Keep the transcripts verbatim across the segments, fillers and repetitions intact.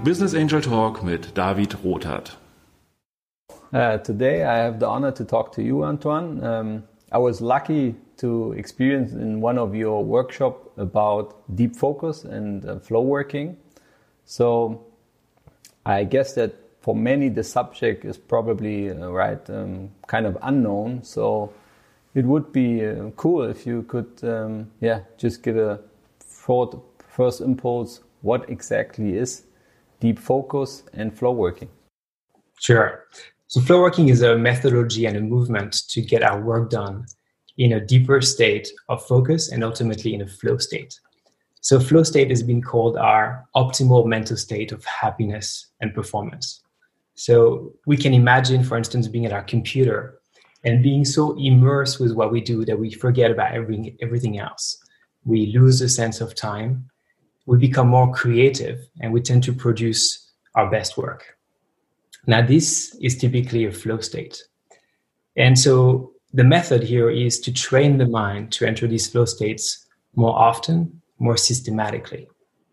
Business Angel Talk mit David Rothart. Uh, today I have the honor to talk to you, Antoine. Um, I was lucky to experience in one of your workshops about deep focus and uh, flow working. So I guess that for many the subject is probably uh, right um, kind of unknown. So it would be uh, cool if you could um, yeah just give a thought, first impulse, what exactly is deep focus and flow working? Sure. So flow working is a methodology and a movement to get our work done in a deeper state of focus and ultimately in a flow state. So flow state has been called our optimal mental state of happiness and performance. So we can imagine, for instance, being at our computer and being so immersed with what we do that we forget about everything, everything else. We lose a sense of time. We become more creative and we tend to produce our best work. Now, this is typically a flow state. And so the method here is to train the mind to enter these flow states more often, more systematically.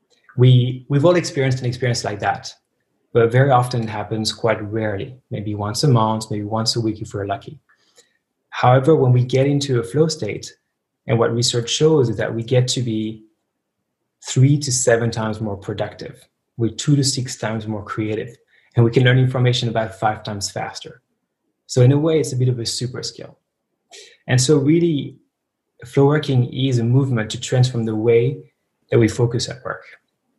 We, we've all experienced an experience like that, but very often it happens quite rarely, maybe once a month, maybe once a week if we're lucky. However, when we get into a flow state, and what research shows is that we get to be three to seven times more productive. We're two to six times more creative, and we can learn information about five times faster. So in a way, it's a bit of a super skill. And so really, flow working is a movement to transform the way that we focus at work.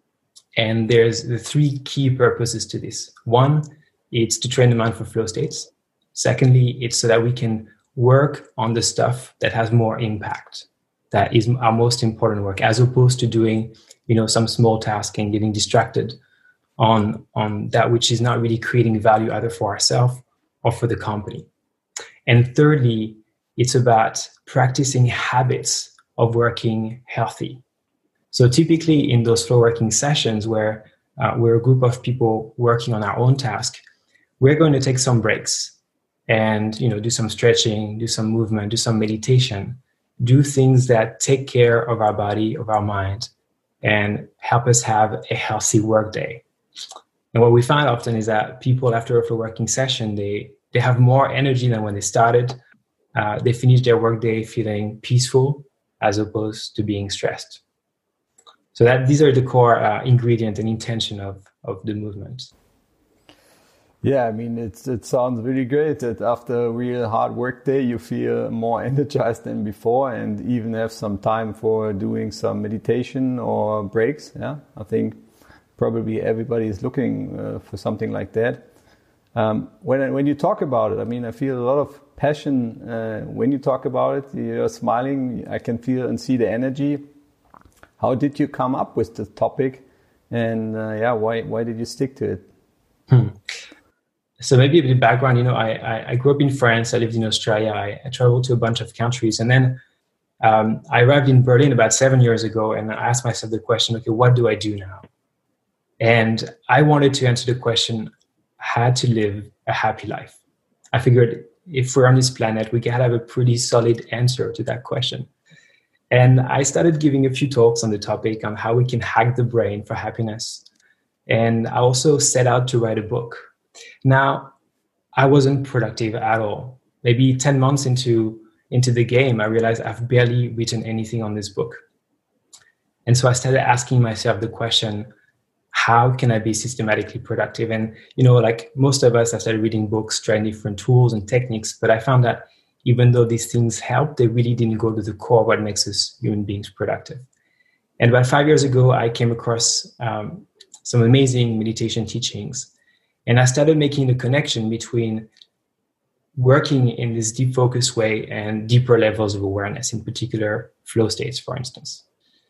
And there's the three key purposes to this. One, it's to train the mind for flow states. Secondly, it's so that we can work on the stuff that has more impact, that is our most important work, as opposed to doing, you know, some small task and getting distracted on, on that which is not really creating value either for ourselves or for the company. And thirdly, it's about practicing habits of working healthy. So typically in those flow working sessions where uh, we're a group of people working on our own task, we're going to take some breaks and, you know, do some stretching, do some movement, do some meditation, do things that take care of our body, of our mind, and help us have a healthy work day. And what we find often is that people after a flow working session, they, they have more energy than when they started. Uh, they finish their workday feeling peaceful as opposed to being stressed. So that these are the core uh, ingredient and intention of, of the movement. Yeah, I mean, it's, it sounds really great that after a real hard work day, you feel more energized than before and even have some time for doing some meditation or breaks. Yeah, I think probably everybody is looking uh, for something like that. Um, when when you talk about it, I mean, I feel a lot of passion uh, when you talk about it. You're smiling. I can feel and see the energy. How did you come up with the topic, and uh, yeah, why why did you stick to it? Hmm. So maybe a bit of background. You know, I, I I grew up in France. I lived in Australia. I, I traveled to a bunch of countries, and then um, I arrived in Berlin about seven years ago. And I asked myself the question: okay, what do I do now? And I wanted to answer the question: how to live a happy life. I figured if we're on this planet, we gotta have a pretty solid answer to that question. And I started giving a few talks on the topic on how we can hack the brain for happiness. And I also set out to write a book. Now, I wasn't productive at all. Maybe ten months into, into the game, I realized I've barely written anything on this book. And so I started asking myself the question, how can I be systematically productive? And, you know, like most of us, I started reading books, trying different tools and techniques, but I found that even though these things help, they really didn't go to the core of what makes us human beings productive. And about five years ago, I came across um, some amazing meditation teachings. And I started making the connection between working in this deep focus way and deeper levels of awareness, in particular flow states, for instance.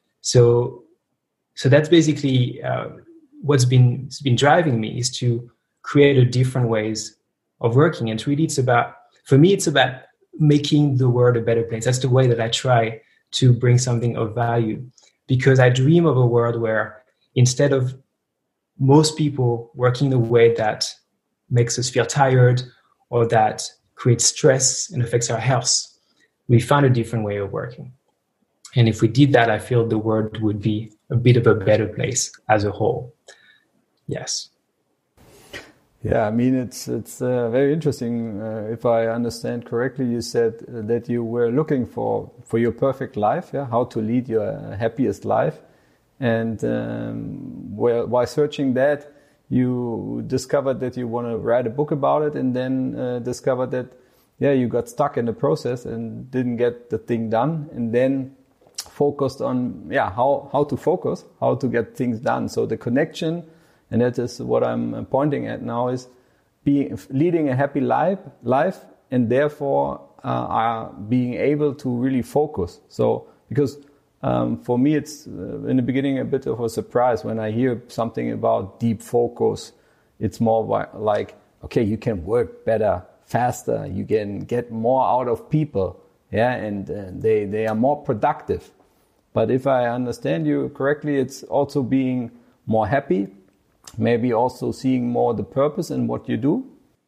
So, so that's basically uh, what's been, it's been driving me, is to create a different ways of working. And really it's about, for me, it's about making the world a better place. That's the way that I try to bring something of value, because I dream of a world where instead of most people working the way that makes us feel tired or that creates stress and affects our health, we find a different way of working. And if we did that, I feel the world would be a bit of a better place as a whole. Yes. Yeah, I mean, it's it's uh, very interesting. Uh, if I understand correctly, you said uh, that you were looking for, for your perfect life, yeah, how to lead your uh, happiest life. And um, well, while searching that, you discovered that you want to write a book about it, and then uh, discovered that, yeah, you got stuck in the process and didn't get the thing done, and then focused on, yeah, how, how to focus, how to get things done. So the connection, and that is what I'm pointing at now, is being, leading a happy life, life and therefore uh, are being able to really focus. So, because um, for me, it's uh, in the beginning a bit of a surprise when I hear something about deep focus. It's more like, okay, you can work better, faster, you can get more out of people, yeah, and uh, they, they are more productive. But if I understand you correctly, it's also being more happy, maybe also seeing more the purpose in what you do.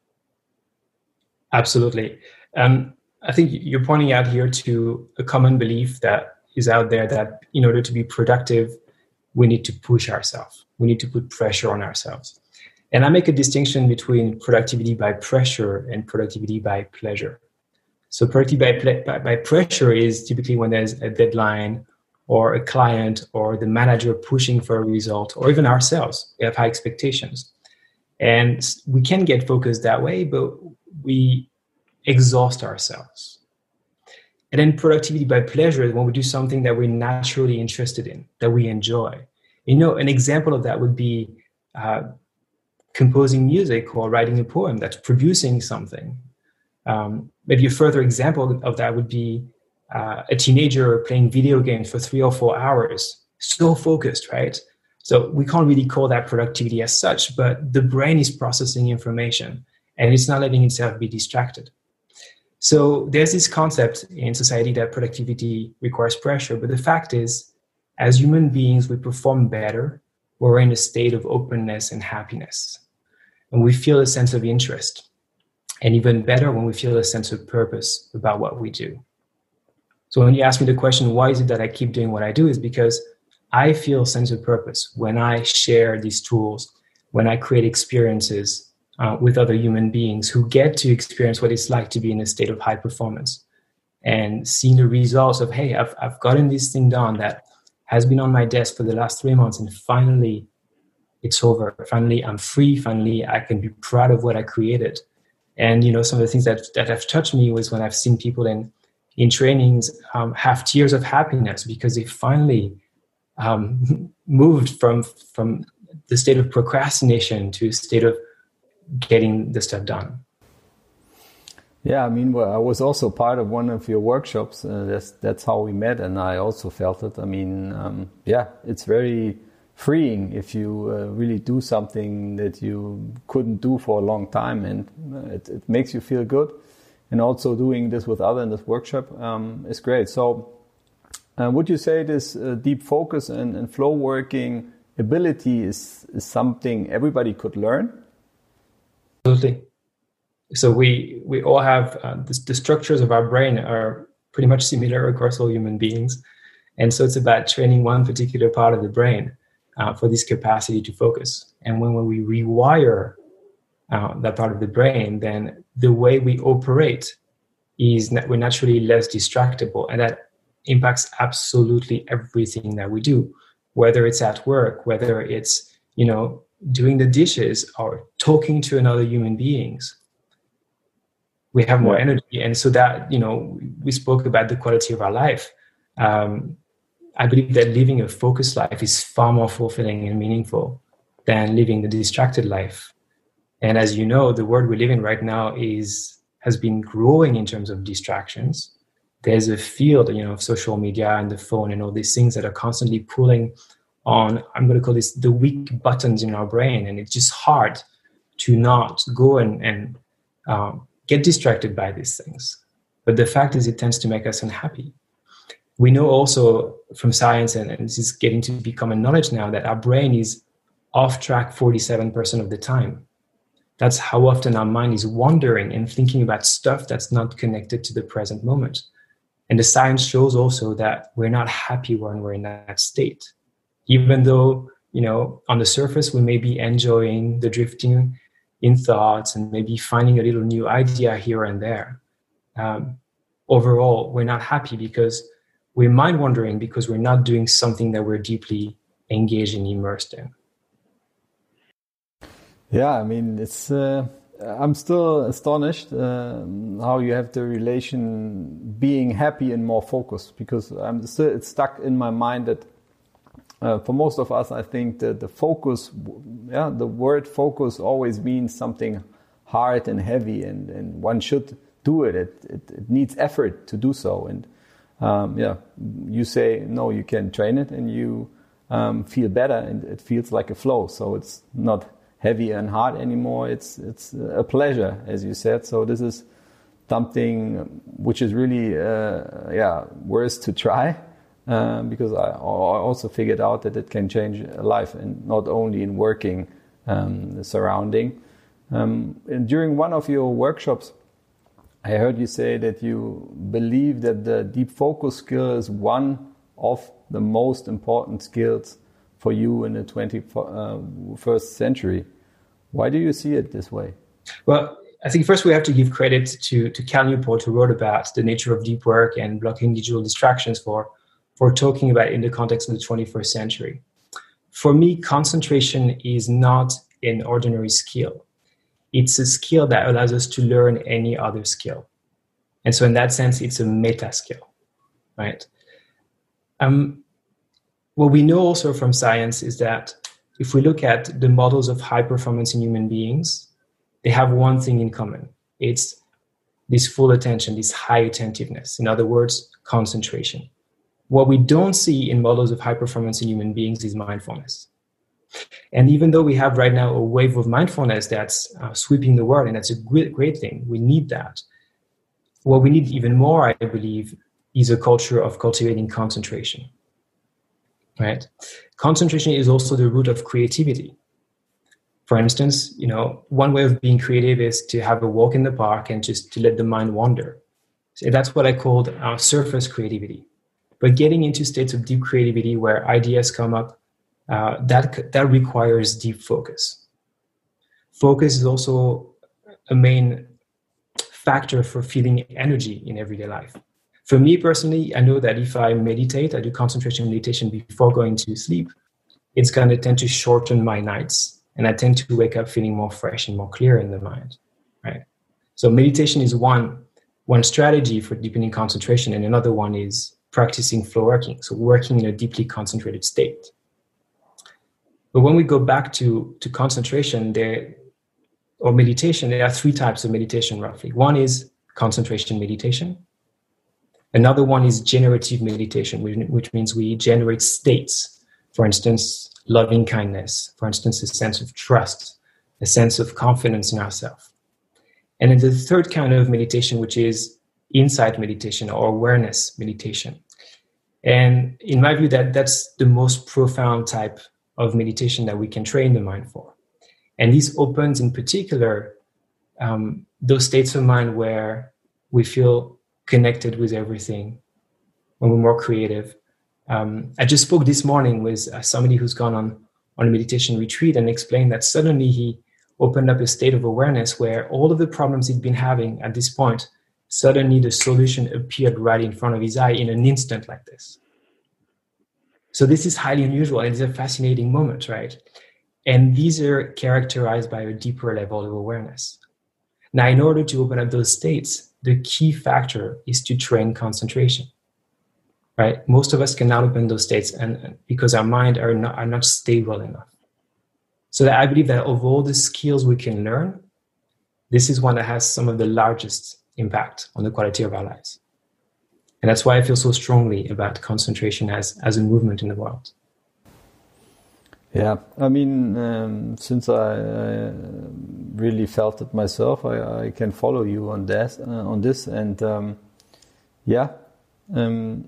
Absolutely. Um, I think you're pointing out here to a common belief that is out there that in order to be productive, we need to push ourselves. We need to put pressure on ourselves. And I make a distinction between productivity by pressure and productivity by pleasure. So productivity by, ple- by, by pressure is typically when there's a deadline or a client or the manager pushing for a result, or even ourselves. We have high expectations. And we can get focused that way, but we exhaust ourselves. And then productivity by pleasure is when we do something that we're naturally interested in, that we enjoy. You know, an example of that would be uh, composing music or writing a poem, that's producing something. Um, maybe a further example of that would be uh, a teenager playing video games for three or four hours, so focused, right? So we can't really call that productivity as such, but the brain is processing information and it's not letting itself be distracted. So there's this concept in society that productivity requires pressure, but the fact is, as human beings, we perform better when we're in a state of openness and happiness, and we feel a sense of interest, and even better when we feel a sense of purpose about what we do. So when you ask me the question, why is it that I keep doing what I do, is because I feel a sense of purpose when I share these tools, when I create experiences uh, with other human beings who get to experience what it's like to be in a state of high performance, and seeing the results of, hey, I've, I've gotten this thing done that has been on my desk for the last three months and finally it's over. Finally, I'm free. Finally, I can be proud of what I created. And, you know, some of the things that, that have touched me was when I've seen people in, in trainings um, have tears of happiness because they finally um, moved from, from the state of procrastination to a state of getting the stuff done. Yeah, I mean, well, I was also part of one of your workshops. Uh, that's, that's how we met, and I also felt it. I mean, um, yeah, it's very freeing if you uh, really do something that you couldn't do for a long time, and uh, it, it makes you feel good. And also doing this with others in this workshop um, is great. So uh, would you say this uh, deep focus and, and flow working ability is, is something everybody could learn? Absolutely. So we, we all have, uh, the, the structures of our brain are pretty much similar across all human beings. And so it's about training one particular part of the brain uh, for this capacity to focus. And when, when we rewire uh, that part of the brain, then the way we operate is that we're naturally less distractible. And that impacts absolutely everything that we do, whether it's at work, whether it's, you know, doing the dishes or talking to another human beings. We have more energy. And so that, you know, we spoke about the quality of our life. Um, I believe that living a focused life is far more fulfilling and meaningful than living the distracted life. And as you know, the world we live in right now is has been growing in terms of distractions. There's a field, you know, of social media and the phone and all these things that are constantly pulling on, I'm going to call this the weak buttons in our brain. And it's just hard to not go and, and um, get distracted by these things. But the fact is, it tends to make us unhappy. We know also from science, and, and this is getting to be common knowledge now, that our brain is off track forty-seven percent of the time. That's how often our mind is wandering and thinking about stuff that's not connected to the present moment. And the science shows also that we're not happy when we're in that state. Even though you know, on the surface, we may be enjoying the drifting in thoughts and maybe finding a little new idea here and there. Um, overall, we're not happy because we're mind wandering because we're not doing something that we're deeply engaged and immersed in. Yeah, I mean, it's. Uh, I'm still astonished uh, how you have the relation being happy and more focused, because I'm still it's stuck in my mind that uh, for most of us, I think that the focus, yeah, the word focus always means something hard and heavy, and, and one should do it. It, it. it needs effort to do so, and um, yeah, you say no, you can train it, and you um, feel better, and it feels like a flow. So it's not heavy and hard anymore. It's it's a pleasure, as you said. So this is something which is really uh, yeah worth to try, um, because I, I also figured out that it can change a life, and not only in working um, the surrounding. Um, and during one of your workshops, I heard you say that you believe that the deep focus skill is one of the most important skills for you in the twenty-first century. Why do you see it this way? Well, I think first we have to give credit to, to Cal Newport, who wrote about the nature of deep work and blocking digital distractions for, for talking about it in the context of the twenty-first century. For me, concentration is not an ordinary skill. It's a skill that allows us to learn any other skill. And so in that sense, it's a meta skill, right? Um, What we know also from science is that if we look at the models of high performance in human beings, they have one thing in common. It's this full attention, this high attentiveness. In other words, concentration. What we don't see in models of high performance in human beings is mindfulness. And even though we have right now a wave of mindfulness that's uh, sweeping the world, and that's a great, great thing, we need that. What we need even more, I believe, is a culture of cultivating concentration. Right? Concentration is also the root of creativity. For instance, you know, one way of being creative is to have a walk in the park and just to let the mind wander. So that's what I called uh, surface creativity. But getting into states of deep creativity where ideas come up, uh, that that requires deep focus. Focus is also a main factor for feeling energy in everyday life. For me personally, I know that if I meditate, I do concentration meditation before going to sleep, it's going to tend to shorten my nights, and I tend to wake up feeling more fresh and more clear in the mind, right? So meditation is one, one strategy for deepening concentration, and another one is practicing flow working, so working in a deeply concentrated state. But when we go back to, to concentration there, or meditation, there are three types of meditation roughly. One is concentration meditation. Another one is generative meditation, which means we generate states. For instance, loving kindness. For instance, a sense of trust, a sense of confidence in ourselves. And then the third kind of meditation, which is insight meditation or awareness meditation. And in my view, that, that's the most profound type of meditation that we can train the mind for. And this opens in particular um, those states of mind where we feel connected with everything, when we're more creative. Um, I just spoke this morning with uh, somebody who's gone on, on a meditation retreat and explained that suddenly he opened up a state of awareness where all of the problems he'd been having at this point, suddenly the solution appeared right in front of his eye in an instant like this. So this is highly unusual, and it's a fascinating moment, right? And these are characterized by a deeper level of awareness. Now, in order to open up those states, the key factor is to train concentration, right? Most of us cannot open those states and because our mind are not, are not stable enough. So that I believe that of all the skills we can learn, this is one that has some of the largest impact on the quality of our lives. And that's why I feel so strongly about concentration as, as a movement in the world. Yeah, I mean, um, since I uh, really felt it myself, I, I can follow you on this, uh, on this, and um, yeah, um,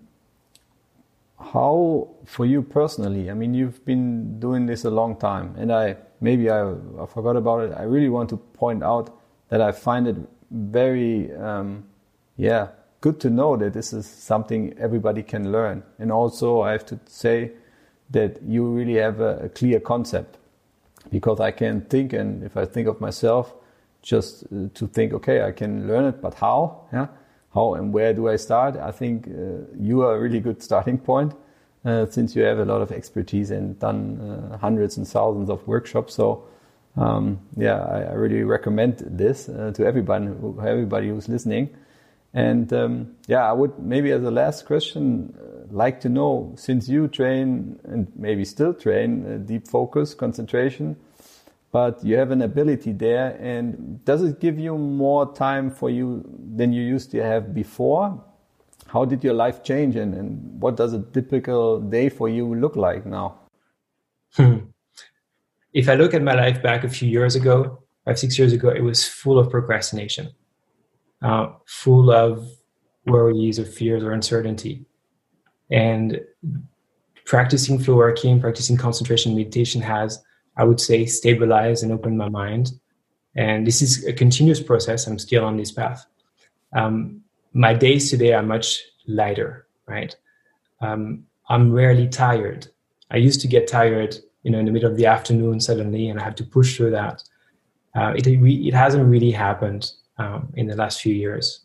how for you personally? I mean, you've been doing this a long time, and I maybe I, I forgot about it. I really want to point out that I find it very, um, yeah, good to know that this is something everybody can learn, and also I have to say that you really have a, a clear concept. Because I can think, and if I think of myself, just uh, to think, okay, I can learn it, but how? Yeah, how and where do I start? I think uh, you are a really good starting point, uh, since you have a lot of expertise and done uh, hundreds and thousands of workshops. So, um, yeah, I, I really recommend this uh, to everybody, who, everybody who's listening. And um, yeah, I would maybe as a last question uh, like to know, since you train and maybe still train uh, deep focus, concentration, but you have an ability there, and does it give you more time for you than you used to have before? How did your life change, and, and what does a typical day for you look like now? Hmm. If I look at my life back a few years ago, five, six years ago, it was full of procrastination. Uh, full of worries or fears or uncertainty. And practicing flow working, practicing concentration meditation has, I would say, stabilized and opened my mind. And this is a continuous process. I'm still on this path. Um, my days today are much lighter, right? Um, I'm rarely tired. I used to get tired, you know, in the middle of the afternoon suddenly, and I have to push through that. Uh, it, it hasn't really happened Um, in the last few years.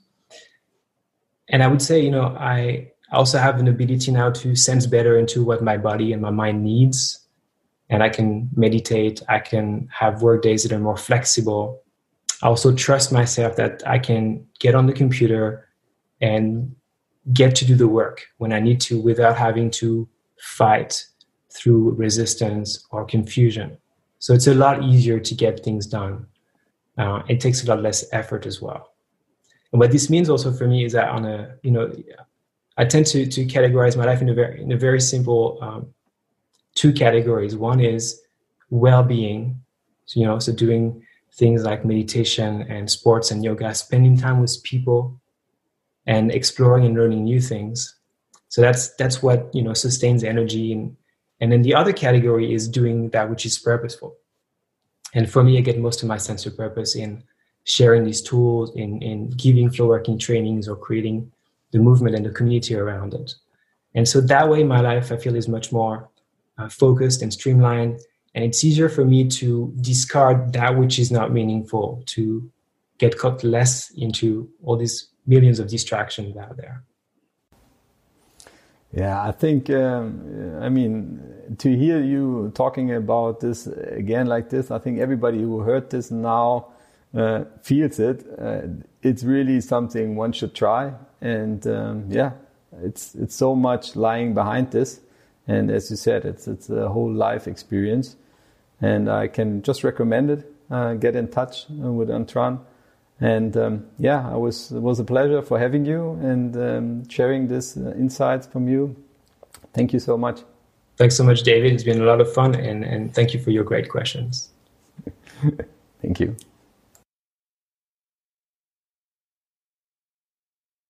And I would say, you know, I also have an ability now to sense better into what my body and my mind needs. And I can meditate. I can have work days that are more flexible. I also trust myself that I can get on the computer and get to do the work when I need to without having to fight through resistance or confusion. So it's a lot easier to get things done. Uh, it takes a lot less effort as well. And what this means also for me is that on a, you know, I tend to to categorize my life in a very in a very simple um, two categories. One is well-being, so, you know, so doing things like meditation and sports and yoga, spending time with people, and exploring and learning new things. So that's that's what, you know, sustains energy. And and then the other category is doing that which is purposeful. And for me, I get most of my sense of purpose in sharing these tools, in, in giving flow working trainings, or creating the movement and the community around it. And so that way, my life, I feel, is much more uh, focused and streamlined. And it's easier for me to discard that which is not meaningful, to get caught less into all these millions of distractions out there. Yeah, I think, um, I mean, to hear you talking about this again like this, I think everybody who heard this now uh, feels it. Uh, it's really something one should try. And um, yeah, it's it's so much lying behind this. And as you said, it's it's a whole life experience. And I can just recommend it. Uh, get in touch with Antoine. And um, yeah, I was it was a pleasure for having you and um, sharing this uh, insights from you. Thank you so much. Thanks so much, David. It's been a lot of fun, and, and thank you for your great questions. Thank you.